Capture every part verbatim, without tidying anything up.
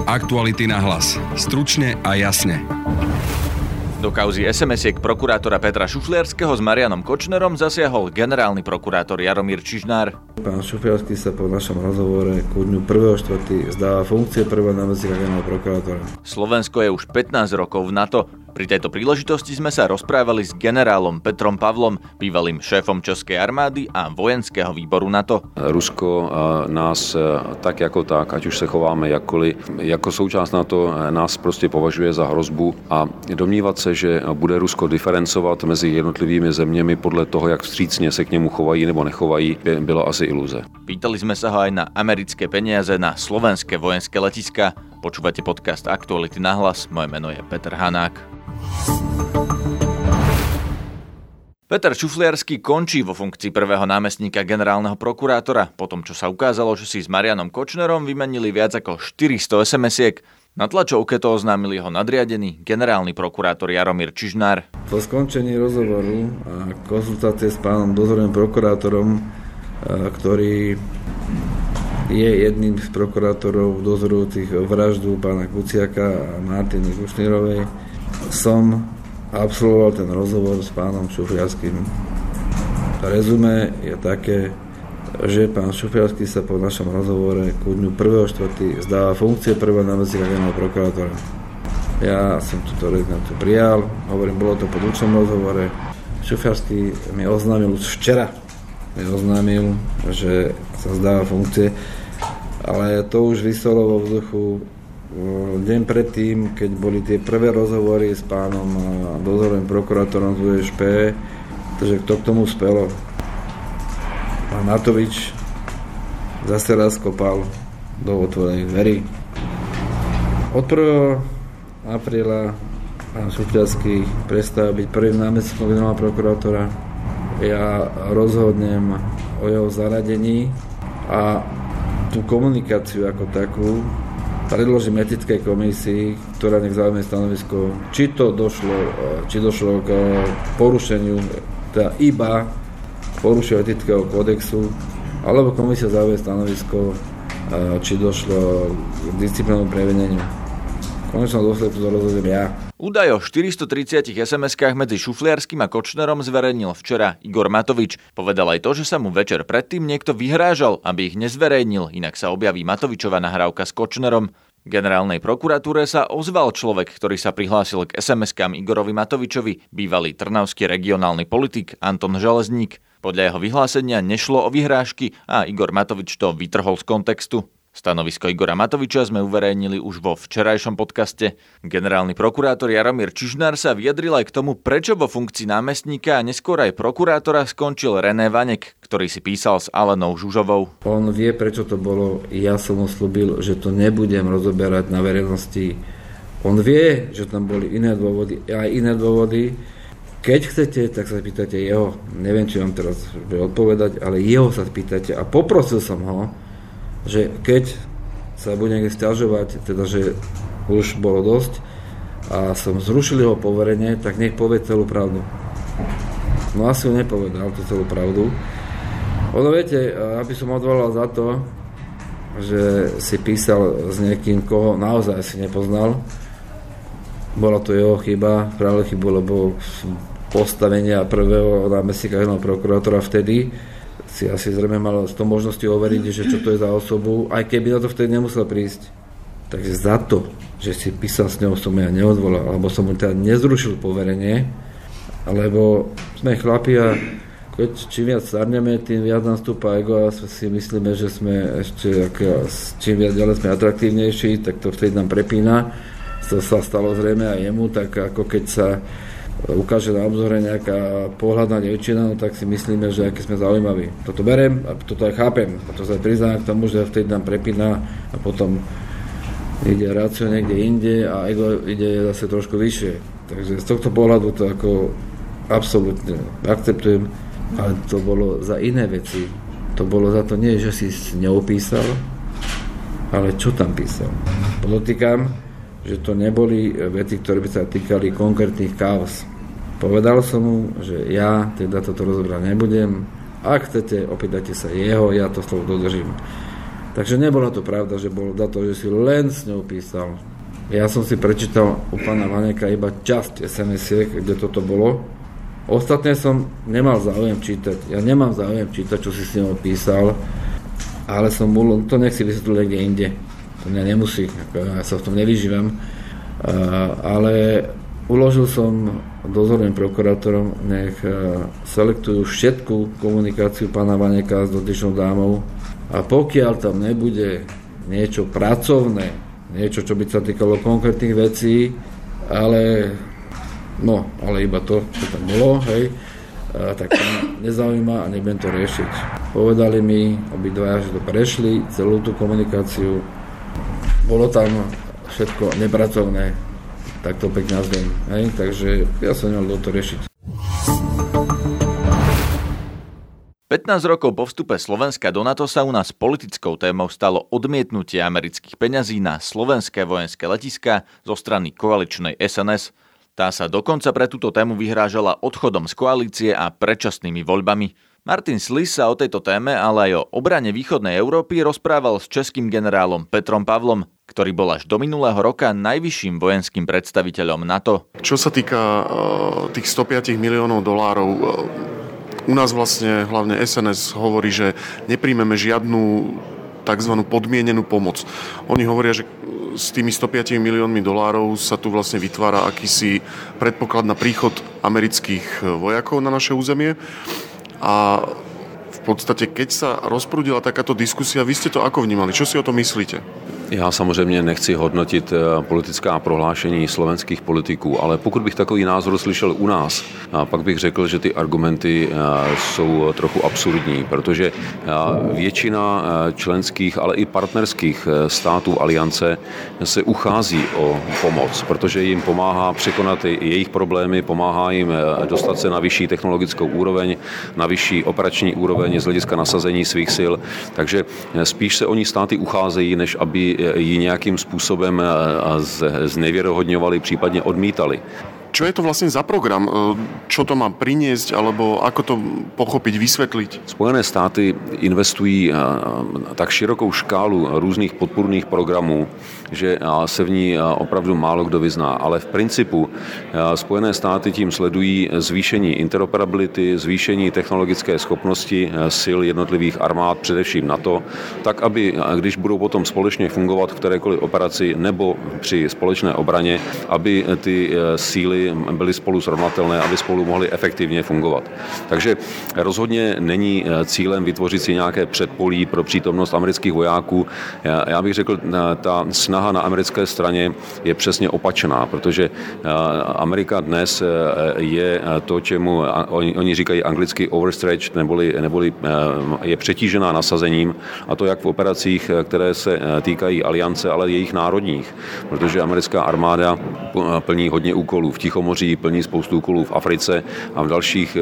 Aktuality na hlas. Stručne a jasne. Do kauzy es em esiek prokurátora Petra Šufliarskeho s Marianom Kočnerom zasiahol generálny prokurátor Jaromír Čižnár. Pán Šufliarsky sa po našom rozhovore ku dňu prvého štvrtého zdáva funkcie prvého námestníka generálneho prokurátora. Slovensko je už pätnásť rokov v NATO. Pri tejto príležitosti sme sa rozprávali s generálom Petrom Pavlom, bývalým šéfom Českej armády a vojenského výboru NATO. Rusko nás tak jako tak, ať už se chováme jakkoliv, jako součást NATO nás prostě považuje za hrozbu a domnívat se, že bude Rusko diferencovat mezi jednotlivými zeměmi podle toho, jak vstřícně se k němu chovají nebo nechovají, byla asi iluze. Pýtali sme sa ho aj na americké peniaze na slovenské vojenské letiská. Počúvate podcast Aktuality na hlas, moje meno je Peter Hanák. Peter Šufliarsky končí vo funkcii prvého námestníka generálneho prokurátora, po tom, čo sa ukázalo, že si s Marianom Kočnerom vymenili viac ako štyristo es em esiek. Na tlačovke to oznámil jeho nadriadený generálny prokurátor Jaromír Čižnár. Po skončení rozhovoru a konzultácie s pánom dozorovým prokurátorom, ktorý je jedným z prokurátorov dozorujúcich vraždu pána Kuciaka a Martiny Kušnírovej, som absolvoval ten rozhovor s pánom Šufliarským. Rezume je také, že pán Šufliarsky sa po našom rozhovore ku dňu prvého štvrtého zdáva funkcie prvého námestníka generálneho prokurátora. Ja som túto rezignáciu prijal, hovorím, bolo to po dlhšom rozhovore. Šufliarsky mi oznámil už včera, mi oznámil, že sa zdáva funkcie, ale to už vyselo vo vzduchu deň predtým, keď boli tie prvé rozhovory s pánom dozorovým prokurátorom z ú es pé, takže kto k tomu spelo? Pán Matovič zase raz kopal do otvorených dverí. Od prvého apríla pán Šufliarsky prestáva byť prvým námestníkom generálneho prokurátora. Ja rozhodnem o jeho zaradení a tú komunikáciu ako takú predložím etickej komisii, ktorá nech zaujme stanovisko, či to došlo, či došlo k porušeniu, teda iba porušeniu etického kódexu, alebo komisia zaujme stanovisko, či došlo k disciplinárnemu previneniu. V konečnom dôsledku to rozhodnem ja. Údaj o štyristotridsiatich es em eskách medzi Šufliarským a Kočnerom zverejnil včera Igor Matovič. Povedal aj to, že sa mu večer predtým niekto vyhrážal, aby ich nezverejnil, inak sa objaví Matovičova nahrávka s Kočnerom. Generálnej prokuratúre sa ozval človek, ktorý sa prihlásil k es em eskám Igorovi Matovičovi, bývalý trnavský regionálny politik Anton Železník. Podľa jeho vyhlásenia nešlo o vyhrážky a Igor Matovič to vytrhol z kontextu. Stanovisko Igora Matoviča sme uverejnili už vo včerajšom podcaste. Generálny prokurátor Jaromír Čižnár sa vyjadril aj k tomu, prečo vo funkcii námestníka a neskôr aj prokurátora skončil René Vanek, ktorý si písal s Alenou Žužovou. On vie, prečo to bolo. Ja som mu slúbil, že to nebudem rozoberať na verejnosti. On vie, že tam boli iné dôvody, aj iné dôvody. Keď chcete, tak sa pýtate jeho. Neviem, či vám teraz bude odpovedať, ale jeho sa pýtate a poprosil som ho, že keď sa bude niekde sťažovať, teda že už bolo dosť a som zrušil jeho poverenie, tak nech povie celú pravdu. No asi ju nepovedal, tú celú pravdu. Ono viete, aby som odvolal za to, že si písal s niekým, koho naozaj si nepoznal, bola to jeho chyba, práve chybu, lebo postavenia prvého námestníka generálneho prokurátora vtedy si asi zrejme mal s tou možnosťou overiť, že čo to je za osobu, aj keby na to vtedy nemusel prísť. Takže za to, že si písal s ňou, som ja neodvolal, alebo som mu teda nezrušil poverenie, lebo sme chlapi a keď čím viac starneme, tým viac nám stúpa ego a si myslíme, že sme ešte, čím viac ďalej sme atraktívnejší, tak to vtedy nám prepína. To sa stalo zrejme aj jemu, tak ako keď sa ukáže na obzore nejaká pohľadná dievčina, no tak si myslíme, že aký sme zaujímaví. Toto berem a toto aj chápem. A to sa priznám k tomu, že vtedy nám prepína a potom ide rácio niekde inde a ego ide zase trošku vyššie. Takže z tohto pohľadu to ako absolútne akceptujem, ale to bolo za iné veci. To bolo za to nie, že si neopísal, ale čo tam písal. Podotýkam, že to neboli veci, ktoré by sa týkali konkrétnych kauz. Povedal som mu, že ja teda toto rozobrať nebudem. Ak chcete, opýtajte sa jeho, ja to slovo dodržím. Takže nebola to pravda, že bolo za to, že si len s ňou písal. Ja som si prečítal u pána Vaneka iba časť es em esiek, kde toto bolo. Ostatné som nemal záujem čítať. Ja nemám záujem čítať, čo si s ňou písal, ale som bol, to nech si vysvetlil niekde inde. To mňa nemusí, ja sa v tom nevyžívam. Ale uložil som dozorným prokurátorom, nech selektujú všetku komunikáciu pána Vaneka s dotyčnou dámou a pokiaľ tam nebude niečo pracovné, niečo, čo by sa týkalo konkrétnych vecí, ale no, ale iba to, čo tam bolo, hej, a, tak to nezaujíma a nebudem to riešiť. Povedali mi obidvaja, že to prešli, celú tú komunikáciu, bolo tam všetko nepracovné, tak to pekne nazviem, hej, takže ja som nemal do to riešiť. pätnásť rokov po vstupe Slovenska do NATO sa u nás politickou témou stalo odmietnutie amerických peňazí na slovenské vojenské letiská zo strany koaličnej es en es. Tá sa dokonca pre túto tému vyhrážala odchodom z koalície a predčasnými voľbami. Martin Slis sa o tejto téme, ale aj o obrane východnej Európy rozprával s českým generálom Petrom Pavlom, ktorý bol až do minulého roka najvyšším vojenským predstaviteľom NATO. Čo sa týka uh, tých stopäť miliónov dolárov, uh, u nás vlastne hlavne es en es hovorí, že nepríjmeme žiadnu tzv. Podmienenú pomoc. Oni hovoria, že s tými stopäť miliónmi dolárov sa tu vlastne vytvára akýsi predpoklad na príchod amerických vojakov na naše územie. A v podstate, keď sa rozprúdila takáto diskusia, vy ste to ako vnímali? Čo si o to myslíte? Já samozřejmě nechci hodnotit politická prohlášení slovenských politiků, ale pokud bych takový názor slyšel u nás, pak bych řekl, že ty argumenty jsou trochu absurdní, protože většina členských, ale i partnerských států aliance se uchází o pomoc, protože jim pomáhá překonat jejich problémy, pomáhá jim dostat se na vyšší technologickou úroveň, na vyšší operační úroveň z hlediska nasazení svých sil, takže spíš se oni státy ucházejí, než aby ji nějakým způsobem znevěrohodňovali, případně odmítali. Čo je to vlastne za program? Čo to má priniesť, alebo ako to pochopiť, vysvetliť? Spojené státy investují tak širokou škálu různých podpůrných programů, že se v ní opravdu málo kdo vyzná. Ale v principu Spojené státy tím sledují zvýšení interoperability, zvýšení technologické schopnosti sil jednotlivých armád, především NATO, tak aby, když budou potom společně fungovat v kterékoliv operaci nebo při společné obraně, aby ty síly byly spolu srovnatelné, aby spolu mohly efektivně fungovat. Takže rozhodně není cílem vytvořit si nějaké předpolí pro přítomnost amerických vojáků. Já bych řekl, ta snaha na americké straně je přesně opačná, protože Amerika dnes je to, čemu oni, oni říkají anglicky overstretched, neboli, neboli je přetížená nasazením, a to jak v operacích, které se týkají aliance, ale jejich národních, protože americká armáda plní hodně úkolů v Tichomoří, plní spoustu úkolů v Africe a v dalších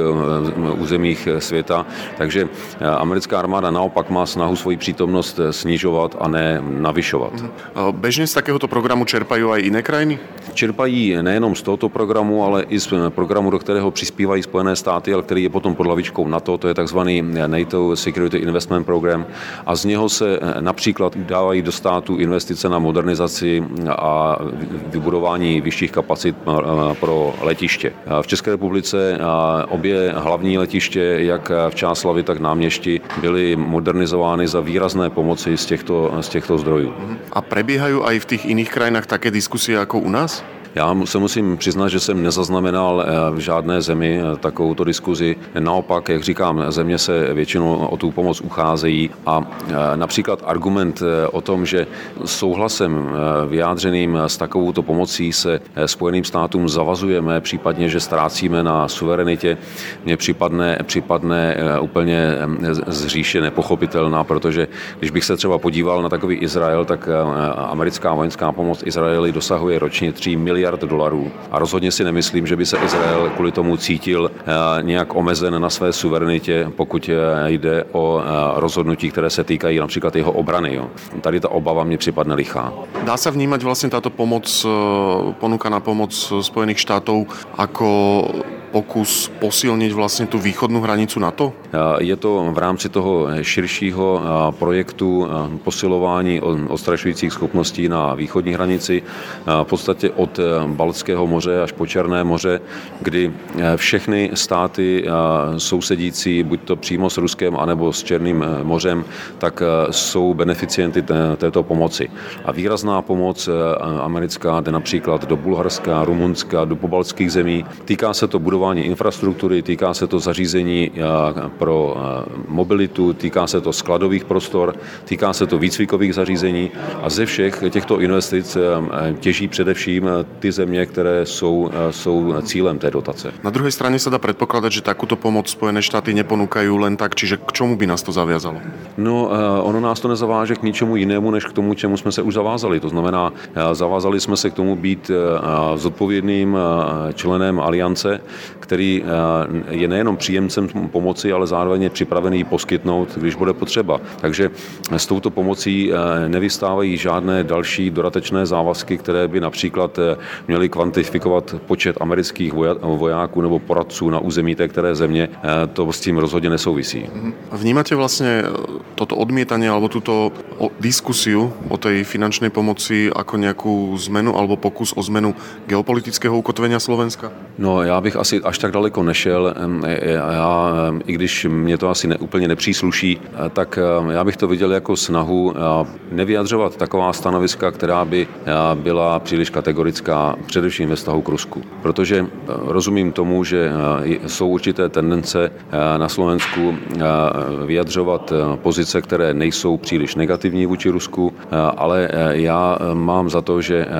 územích světa, takže americká armáda naopak má snahu svoji přítomnost snižovat a ne navyšovat. Bežne z takéhoto programu čerpajú aj iné krajiny? Čerpají nejenom z tohoto programu, ale i z programu, do kterého přispívají Spojené státy, ale který je potom pod hlavičkou NATO, to je takzvaný NATO Security Investment Program, a z něho se například dávají do státu investice na modernizaci a vybudování vyšších kapacit pro letiště. V České republice obě hlavní letiště, jak v Čáslavi, tak Náměšti, byly modernizovány za výrazné pomoci z těchto, z těchto zdrojů. A prebiehajú aj v tých iných krajinách také diskusie ako u nás? Já se musím přiznat, že jsem nezaznamenal v žádné zemi takovouto diskuzi. Naopak, jak říkám, země se většinou o tu pomoc ucházejí a například argument o tom, že souhlasem vyjádřeným s takovouto pomocí se Spojeným státům zavazujeme, případně, že ztrácíme na suverenitě, mně připadne, připadne úplně zříše nepochopitelná, protože když bych se třeba podíval na takový Izrael, tak americká vojenská pomoc Izraeli dosahuje ročně tři miliardy dolarů. A rozhodně si nemyslím, že by se Izrael kvůli tomu cítil nějak omezen na své suverenitě, pokud jde o rozhodnutí, které se týkají například jeho obrany. Jo. Tady ta obava mě připadne lichá. Dá sa vnímať vlastne táto pomoc, ponúkaná pomoc Spojených štátov ako pokus posilniť vlastne tú východnú hranicu NATO? Je to v rámci toho širšího projektu posilování odstrašujících schopností na východní hranici, v podstatě od Baltského moře až po Černé moře, kdy všechny státy sousedící, buď to přímo s Ruskem, anebo s Černým mořem, tak jsou beneficienty této pomoci. A výrazná pomoc americká jde například do Bulharska, Rumunska, do pobaltských zemí. Týká se to budování infrastruktury, týká se to zařízení pro mobilitu, týká se to skladových prostor, týká se to výcvikových zařízení a ze všech těchto investic těží především ty země, které jsou, jsou cílem té dotace. Na druhej strane sa dá predpokladať, že takúto pomoc Spojené štáty neponúkajú len tak, čiže k čomu by nás to zaviazalo? No, ono nás to nezaváže k ničemu jinému, než k tomu, čemu jsme se už zavázali. To znamená, zavázali jsme se k tomu být zodpovědným členem aliance, který je nejenom příjemcem pomoci, ale zároveň je připravený poskytnout, když bude potřeba. Takže s touto pomocí nevystávají žádné další dodatečné závazky, které by například měly kvantifikovat počet amerických vojáků nebo poradců na území té které země. To s tím rozhodně nesouvisí. Vnímate vlastne toto odmietanie alebo túto diskusiu o tej finančnej pomoci ako nejakú zmenu alebo pokus o zmenu geopolitického ukotvenia Slovenska? No, já bych asi až tak daleko nešel. Já, i když mě to asi ne, úplně nepřísluší, tak já bych to viděl jako snahu nevyjadřovat taková stanoviska, která by byla příliš kategorická, především ve vztahu k Rusku. Protože rozumím tomu, že jsou určité tendence na Slovensku vyjadřovat pozice, které nejsou příliš negativní vůči Rusku, ale já mám za to, že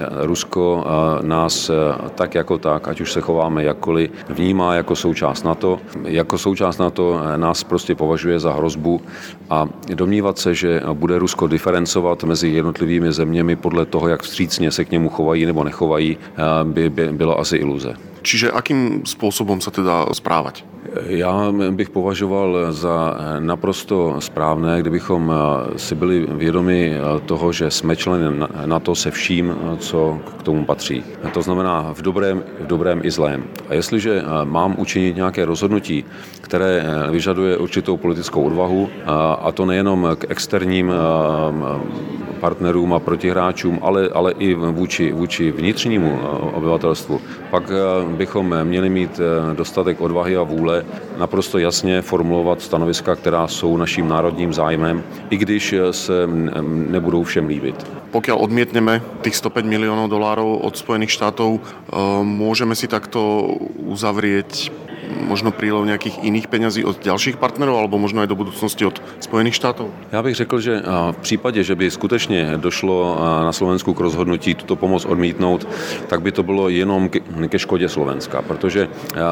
Rusko nás tak jako tak, ať už se chováme jakkoliv, vnímá jako součást NATO. Jako součást NATO nás prostě považuje za hrozbu a domnívat se, že bude Rusko diferencovat mezi jednotlivými zeměmi podle toho, jak vstřícně se k němu chovají nebo nechovají, by, by byla asi iluze. Čiže akým spôsobom sa teda správať? Já bych považoval za naprosto správné, kdybychom si byli vědomi toho, že jsme členy NATO se vším, co k tomu patří. To znamená v dobrém, v dobrém i zlém. A jestliže mám učinit nějaké rozhodnutí, které vyžaduje určitou politickou odvahu, a to nejenom k externím partnerům a protihráčům, ale, ale i vůči, vůči vnitřnímu obyvatelstvu, pak bychom měli mít dostatek odvahy a vůle naprosto jasně formulovat stanoviska, která jsou naším národním zájmem, i když se nebudou všem líbit. Pokiaľ odmietneme tých sto päť miliónov dolárov od Spojených štátov, môžeme si takto uzavrieť možno prílev nejakých iných peňazí od ďalších partnerov alebo možno aj do budúcnosti od Spojených štátov? Já bych řekl, že v případě, že by skutečně došlo na Slovensku k rozhodnutí tuto pomoc odmítnout, tak by to bylo jenom ke škodě Slovenska, protože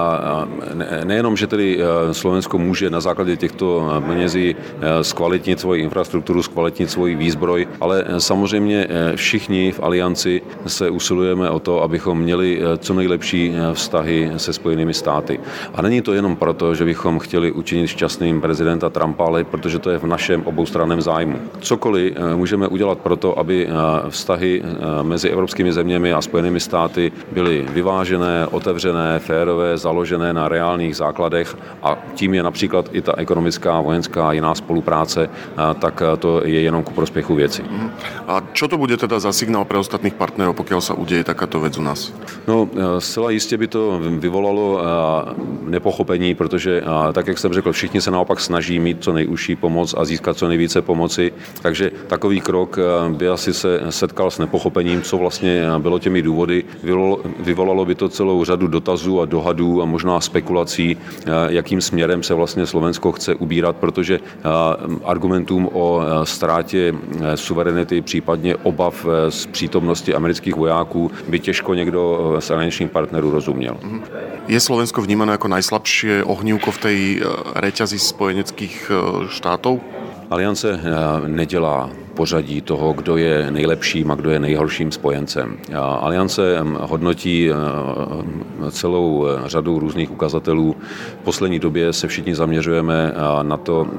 nejenom, že tedy Slovensko může na základě těchto penězí zkvalitnit svoji infrastrukturu, zkvalitnit svoji výzbroj, ale samozřejmě všichni v alianci se usilujeme o to, abychom měli co nejlepší vztahy se Spojenými státy. A není to jenom proto, že bychom chtěli učinit šťastným prezidenta Trumpa, ale protože to je v našem oboustranném zájmu. Cokoliv můžeme udělat proto, aby vztahy mezi evropskými zeměmi a Spojenými státy byly vyvážené, otevřené, férové, založené na reálných základech a tím je například i ta ekonomická, vojenská a jiná spolupráce, tak to je jenom ku prospěchu věci. A čo to bude teda za signál pre ostatných partnerov, pokiaľ sa udeje takáto vec u nás? No, zcela jistě by to vyvolalo nepochopení, protože tak, jak jsem řekl, všichni se naopak snaží mít co nejužší pomoc a získat co nejvíce pomoci, takže takový krok by asi se setkal s nepochopením, co vlastně bylo těmi důvody. Vyvolalo by to celou řadu dotazů a dohadů a možná spekulací, jakým směrem se vlastně Slovensko chce ubírat, protože argumentům o ztrátě suverenity, případně obav z přítomnosti amerických vojáků by těžko někdo z aliančních partnerů rozuměl. Je Slovensko vnímané ako najslabšie ohnívko v tej reťazi spojeneckých štátov? Aliance nedělá pořadí toho, kdo je nejlepším a kdo je nejhorším spojencem. Aliance hodnotí celou řadu různých ukazatelů. V poslední době se všichni zaměřujeme na to,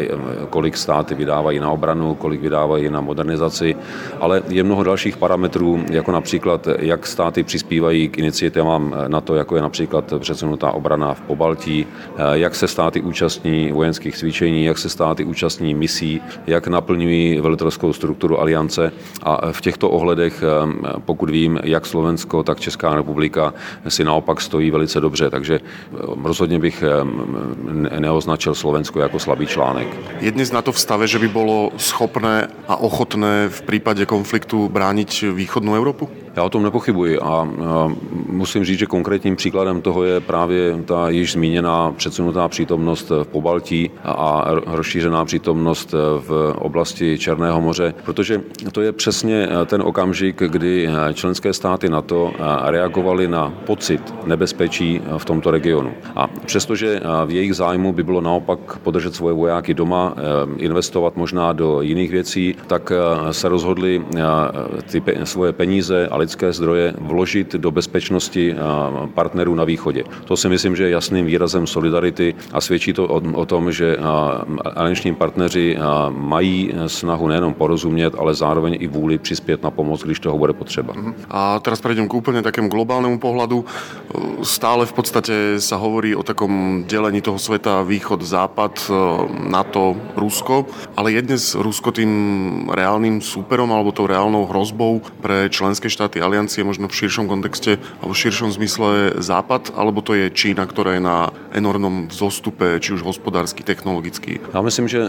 kolik státy vydávají na obranu, kolik vydávají na modernizaci, ale je mnoho dalších parametrů, jako například, jak státy přispívají k iniciativám NATO, jako je například předsunutá obrana v Pobaltí, jak se státy účastní vojenských cvičení, jak se státy účastní misí, jak naplňují velitelskou strukturu aliance a v těchto ohledech, pokud vím, jak Slovensko, tak Česká republika si naopak stojí velice dobře, takže rozhodně bych neoznačil Slovensko jako slabý článek. Je dnes NATO v stave, že by bolo schopné a ochotné v prípade konfliktu brániť východnú Európu? Já o tom nepochybuji a musím říct, že konkrétním příkladem toho je právě ta již zmíněná předsunutá přítomnost v Pobaltí a rozšířená přítomnost v oblasti Černého moře, protože to je přesně ten okamžik, kdy členské státy NATO reagovaly na pocit nebezpečí v tomto regionu. A přestože v jejich zájmu by bylo naopak podržet svoje vojáky doma, investovat možná do jiných věcí, tak se rozhodli ty svoje peníze a lidské zdroje vložit do bezpečnosti partnerů na východě. To si myslím, že je jasným výrazem solidarity a svědčí to o, o tom, že alianční partneři mají snahu nejenom porozumět, ale zároveň i vůli přispět na pomoc, když toho bude potřeba. A teraz prejdem k úplne takému globálnemu pohľadu. Stále v podstate sa hovorí o takom delení toho sveta východ-západ, NATO, Rusko, ale je dnes Rusko tým reálnym súperom alebo tou reálnou hrozbou pre členské štáty aliancie, možno v širšom kontexte alebo v širšom zmysle západ, alebo to je Čína, ktorá je na enormnom vzostupe, či už hospodársky, technologický? Já myslím, že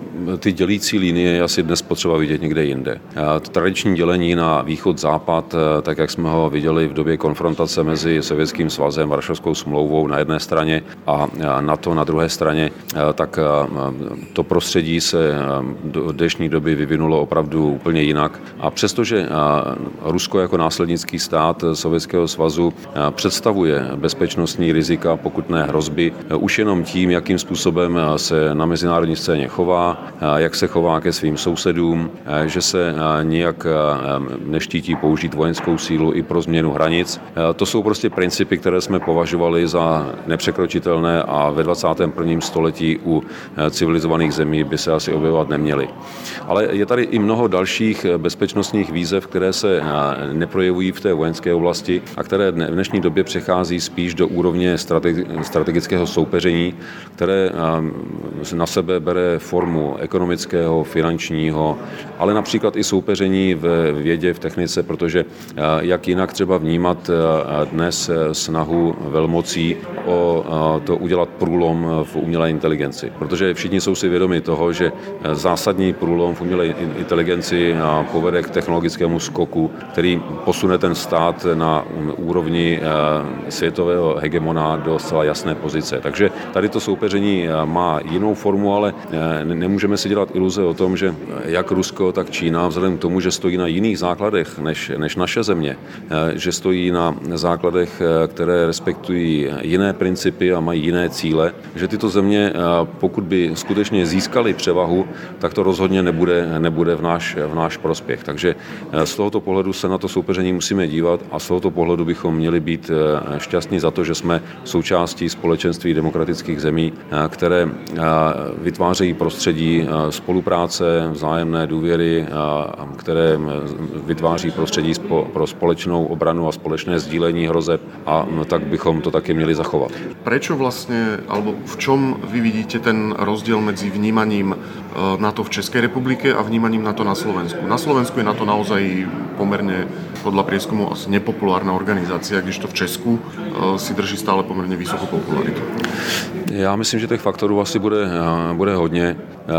ty dělící linie je asi dnes potřeba vidět někde jinde. Tradiční dělení na východ-západ, tak jak jsme ho viděli v době konfrontace mezi Sovětským svazem, Varšavskou smlouvou na jedné straně a NATO na druhé straně, tak to prostředí se do dnešní doby vyvinulo opravdu úplně jinak. A přestože Rusko jako následnický stát Sovětského svazu představuje bezpečnostní rizika, pokud ne hrozby, už jenom tím, jakým způsobem se na mezinárodní scéně chová, jak se chová ke svým sousedům, že se nijak neštítí použít vojenskou sílu i pro změnu hranic. To jsou prostě principy, které jsme považovali za nepřekročitelné a ve dvacátém prvním století u civilizovaných zemí by se asi objevovat neměly. Ale je tady i mnoho dalších bezpečnostních výzev, které se neprojevují v té vojenské oblasti a které v dnešní době přechází spíš do úrovně strategického soupeření, které na sebe bere formu ekonomického, finančního, ale například i soupeření v vědě, v technice, protože jak jinak třeba vnímat dnes snahu velmocí o to udělat průlom v umělé inteligenci. Protože všichni jsou si vědomi toho, že zásadní průlom v umělé inteligenci povede k technologickému skoku, který posune ten stát na úrovni světového hegemona do zcela jasné pozice. Takže tady to soupeření má jinou formu, ale nemůžeme si dělat iluze o tom, že jak Rusko, tak Čína, vzhledem k tomu, že stojí na jiných základech než, než naše země, že stojí na základech, které respektují jiné principy a mají jiné cíle, že tyto země, pokud by skutečně získaly převahu, tak to rozhodně nebude, nebude v náš, v náš prospěch. Takže z tohoto pohledu se na to soupeření musíme dívat a z tohoto pohledu bychom měli být šťastní za to, že jsme součástí společenství demokratických zemí, které vytvářejí prostředí spolupráce, vzájemné důvěry, které vytváří prostředí pro společnou obranu a společné sdílení hrozeb a tak bychom to také měli zachovat. Prečo vlastne, alebo v čom vy vidíte ten rozdiel medzi vnímaním NATO v Českej republike a vnímaním NATO na Slovensku? Na Slovensku je NATO naozaj pomerne podľa prieskumu asi nepopulárna organizácia, kdežto v Česku si drží stále pomerne vysokú popularitu. Já myslím, že těch faktorů asi bude, bude hodně.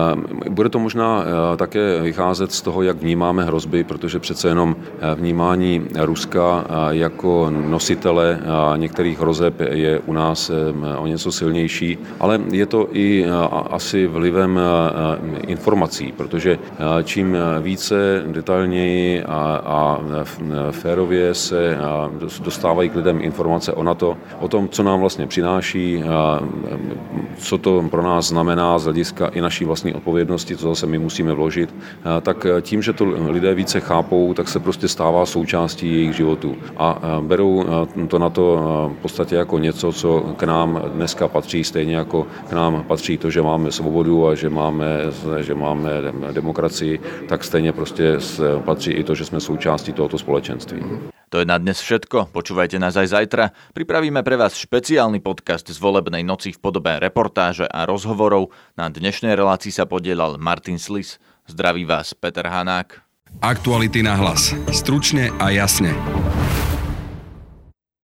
Bude to možná také vycházet z toho, jak vnímáme hrozby, protože přece jenom vnímání Ruska jako nositele některých hrozeb je u nás o něco silnější, ale je to i asi vlivem informací, protože čím více detailněji a férově se dostávají k lidem informace o NATO, o tom, co nám vlastně přináší, co to pro nás znamená z hlediska i naší vlastní odpovědnosti, co zase my musíme vložit, tak tím, že to lidé více chápou, tak se prostě stává součástí jejich životů. A berou to NATO v podstatě jako něco, co k nám dneska patří, stejně jako k nám patří to, že máme svobodu a že máme, že máme demokracii, tak stejně prostě patří i to, že sme súčasťou tohoto spoločenství. To je na dnes všetko. Počúvajte nás aj zajtra. Pripravíme pre vás špeciálny podcast z volebnej noci v podobe reportáže a rozhovorov. Na dnešnej relácii sa podielal Martin Slis. Zdraví vás Peter Hanák. Aktuality na hlas. Stručne a jasne.